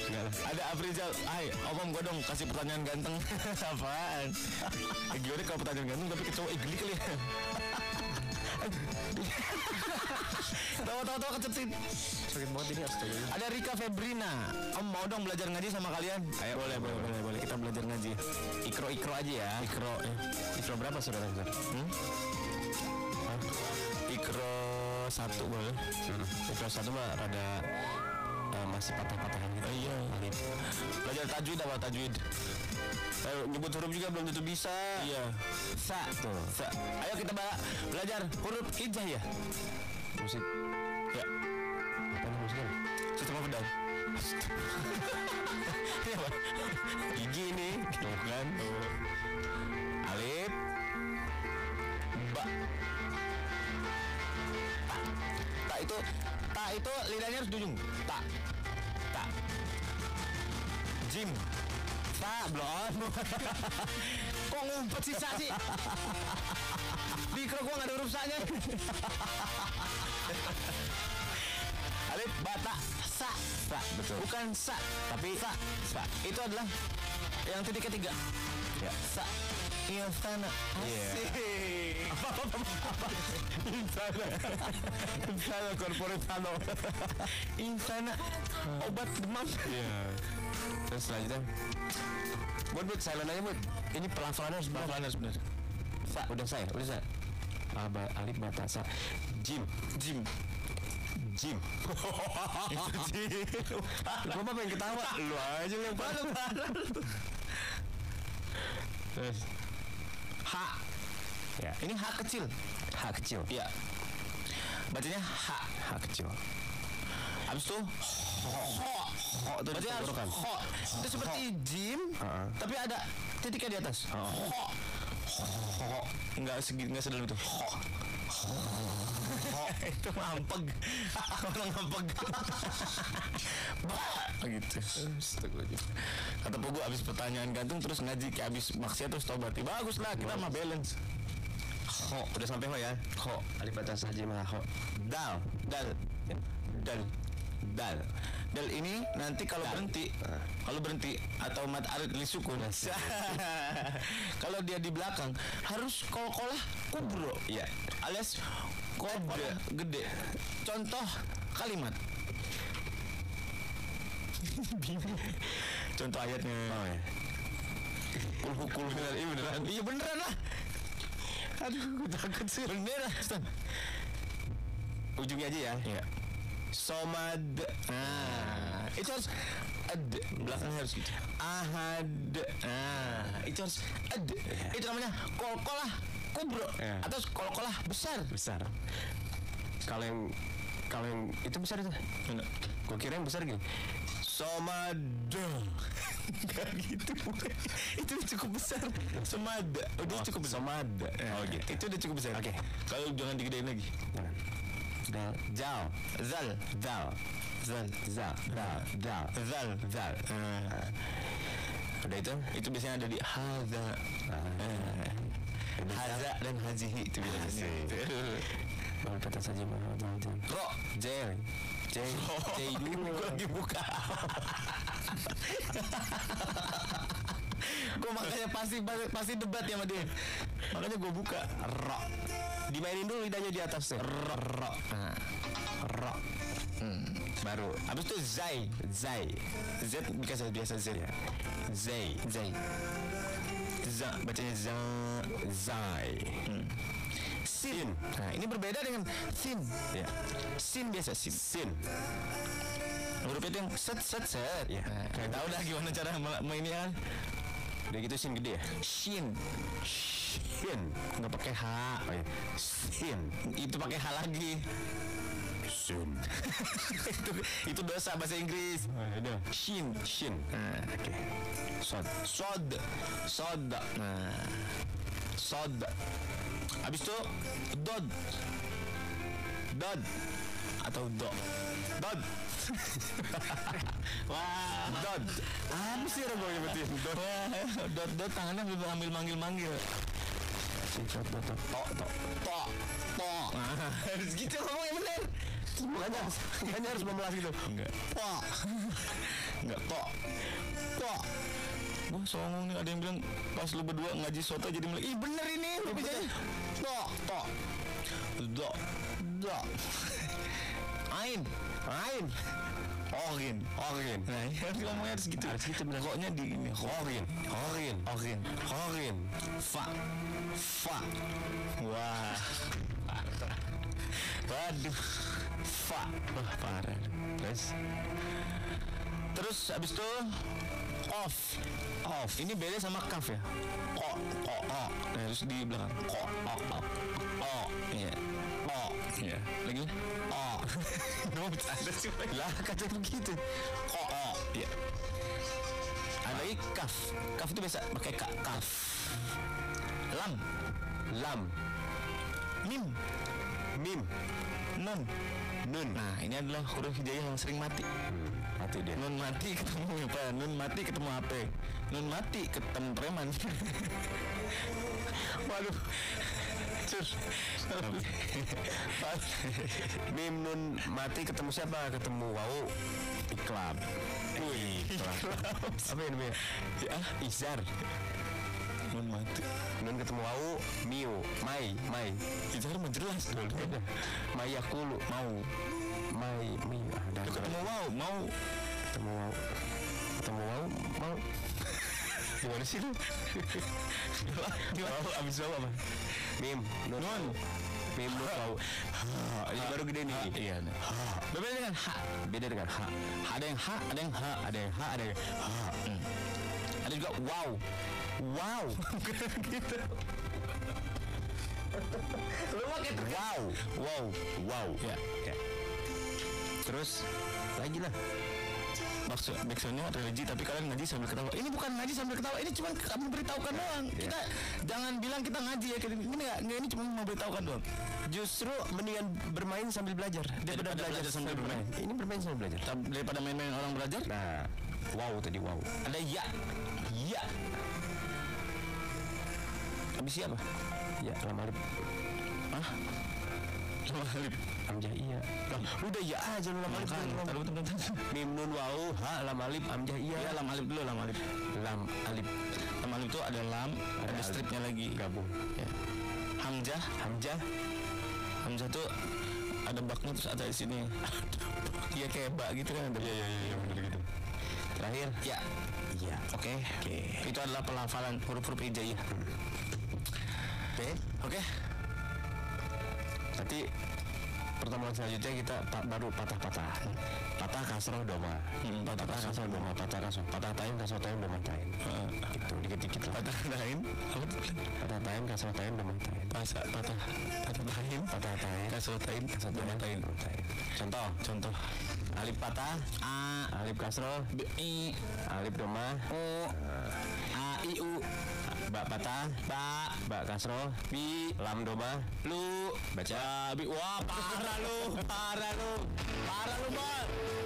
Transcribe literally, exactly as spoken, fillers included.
Ada Afrizal, hai Om gue dong kasih pertanyaan ganteng. Apaan? Eh, gimana kalau pertanyaan ganteng tapi ke cowok, eh, geli kali ya. Tawa-tawa kecetin. Sakit banget ini, astaga. Ada Rika Febrina, Om mau dong belajar ngaji sama kalian? Ayo, boleh, boleh, boleh, boleh. Kita belajar ngaji. Ikro-ikro aja ya. Ikro, ya. Ikro berapa saudara? Hmm? Ikro satu boleh. Hmm. Ikro satu mah rada uh, masih patah-patahan gitu. Oh, iya. Alif. Belajar tajwid apa tajwid? Ayo, nyebut huruf juga belum tentu bisa. Iya. Sa. Tuh. Sa. Ayo kita belajar huruf hijaiyah. Musik. Ya. Apa nih musiknya? Sistem apa dan? Ini apa? Gigi nih. Tuh kan. Tuh. Alif. Ba. Ta. Ta itu. Ta itu lidahnya harus di ujung. Ta. Ta. Jim. Ta belum. Kok ngumpet sih sa sih? Di kro gua gak ada huruf sa-nya. Alif bata sa. Sa betul. Bukan sa, tapi sa. Sa. Itu adalah yang titik ketiga. Ya. Sa. Insana. Asik. Apa apa apa. Insana. Insana korporatano. Insana. Obat demam. Iya. Terus selanjutnya. Buat buat silent aja buat. Ini pelafalannya harus pelafalannya harus benar. Sa. Udah saya, udah saya. Aba alif bata sa. Jim. Jim. Jim. Jim. Gua mah pengen ketawa. Lu aja yang parah. Terus H. Ya. Ini H kecil. H kecil. Iya. Bacanya H. H kecil. Habis itu ho. Ho itu berarti harus ho. Itu seperti Jim, tapi ada titiknya di atas. Ho. Ho. Enggak segi, enggak sedalam itu. Ho. Itu mampeg. Orang mampeg. Bah, gitu. Astagfirullahaladzim. Kata Pogo abis pertanyaan gantung terus ngaji kayak abis maksiat terus tobat. Bagus lah, kita mah balance. Ho, udah sampai ho ya. Ho, alif batas saja mah ho. Dal, dal, dal, dal. Dal ini nanti kalau berhenti, kalau berhenti atau mat arid li sukun. Kalau dia di belakang harus kol-kolah kubro. Iya. Alias kode gede. Contoh kalimat. Contoh ayatnya. Oh ya. Kul kul beneran, iya beneran. Iya beneran lah. Aduh, takut sih beneran. Ujungnya aja ya. Iya. Somad. Nah, itu harus ad. Belakangnya harus gitu. Ahad. Nah, itu harus ad. Itu namanya kol-kolah kubro ya. Atau kol-kolah besar. Besar. Kalau yang kalau yang itu besar itu. Enggak. Gua kira yang besar gini. Somad. Enggak gitu. Itu cukup besar. Somad. Oh, dia cukup besar. Somad. Oh, gitu. Itu udah cukup besar. Oke. Okay. Kalau jangan digedein lagi. Jangan. Dal, jal, zal, dal, zal, zal, dal, dal, zal, zal. Uh, udah itu, itu biasanya ada di haza, uh, haza dan hazihi itu biasanya. Baru kata saja mau mau ro, j, j, j dulu. Gue lagi buka. Gue makanya pasti pasti debat ya sama dia. Makanya gue buka ro. Dimainin dulu lidahnya di atas tuh. Ro, ro. Nah. Ro. Hmm. Baru. Habis itu zai, zai. Z biasa biasa Z ya. Zai, zai. Za, bacanya za, zai. Hmm. Sin. Nah, ini berbeda dengan sin. Ya. Sin biasa sin. Sin. Huruf itu yang set set set. Ya. Nah, kayak tahu dah gimana cara mainnya kan. Udah gitu sin gede ya. Shin. Shin. Nggak pakai H. Oh, ya. Sin. Itu pakai H lagi. Shin. itu itu dosa bahasa Inggris. Oh, ya. Shin. Shin. Nah, oke. Okay. Sod. Sod. Sod. Nah. Sod. Habis itu dod. Dod. Atau do. Dod. Wah, dod. Apa sih orang gue nyebutin? Dod. Dod, dod tangannya ambil manggil-manggil. Dot, dot, dot. To, to, to, to. Harus gitu ngomongnya bener. Makanya, makanya harus memelas gitu. Enggak. To. Enggak, tok. Tok. Wah, songong nih, ada yang bilang pas lu berdua ngaji soto jadi mulai, ih bener ini, lu bisa. Tok, tok. Dok. Dok. Ain. Ain. Orin, orin. Nah, harus ngomongnya harus gitu. Harus gitu benar. Koknya di ini. Orin, orin, orin, orin. Fa, fa. Wah. Waduh. Fa. Wah, parah. Terus, terus abis itu off, off. Ini beda sama kaf ya. Ko, ko, o. Nah, terus di belakang. Ko, o, o, o. Iya. O. Iya. Lagi. O. Mau bercanda sih lah, kata begitu. Ko, o. Iya. Ada lagi kaf. Kaf itu biasa pakai ka, kaf. Lam. Lam. Mim. Mim. Nun. Nun. Nah, ini adalah huruf hijaiyah yang sering mati. Hmm, mati dia. Nun mati ketemu apa? Nun mati ketemu H P. Nun mati ketemu preman. Waduh. Cur. Mim nun mati ketemu siapa? Ketemu wau iklan. Wih, iklan. Apa ini namanya? Ya, Izar. Nun mati. Nun ketemu wau miu, mai, mai. Izar menjelas dulu. Mai akulu mau. Mai, mi ada. Ketemu wau, mau. Ketemu wau. Ketemu wau, mau. Gimana sih lu? Gimana? Abis wau apa? Mim, nun. Nun. Mim, nun, wau. Ini baru gede nih. Iya. Beda dengan ha. Beda dengan ha. Ada yang ha, ada yang ha, ada yang ha, ada yang ha. Ada juga wow. Wow. Gitu. Lu pakai wow, wow, wow. Ya, ya. Terus lagi lah. Maksud backsoundnya religi tapi kalian ngaji sambil ketawa. Ini bukan ngaji sambil ketawa, ini cuma kami beritahukan doang. Ya. Kita jangan bilang kita ngaji ya. Ini enggak, enggak ini cuma mau beritahukan doang. Justru mendingan bermain sambil belajar daripada belajar, belajar sambil bermain. bermain. Ini bermain sambil belajar. Daripada main-main orang belajar. Nah, wow tadi wow. Ada ya. Ya. Habis siapa? Ya, lam alif. Hah? Lam alif. Hamzah iya. Lah, udah ya aja lu lam alif. Tahu teman-teman. Mim nun wau ha lam alif hamzah iya. Ya lam alif dulu lam alif. Lam alif. Lam alif itu ada lam, ada, ada stripnya lagi gabung. Ya. Hamzah, hamzah. Hamzah tuh ada baknya terus ada di sini. Iya kayak bak gitu kan ada. Iya iya iya benar gitu. Terakhir ya. Iya. Oke. Oke. Itu adalah pelafalan huruf-huruf hijaiyah. Oke, okay. oke. Okay. Nanti pertemuan selanjutnya kita pa- baru patah-patah. Patah kasroh doma. Hmm, patah kasroh doma, patah kasroh. Patah taim kasroh taim doma taim. Uh, gitu dikit-dikit lah. Patah taim. Patah taim kasroh taim doma taim. Patah patah patah taim, patah taim kasroh taim kasroh doma taim. Contoh, contoh. Alif patah a, alif kasroh b, i, alif doma o, a i u. Ba patah, ba, ba kasroh, bi, lam doma, lu, baca, bi, wah parah lu, parah lu, parah lu, Bang.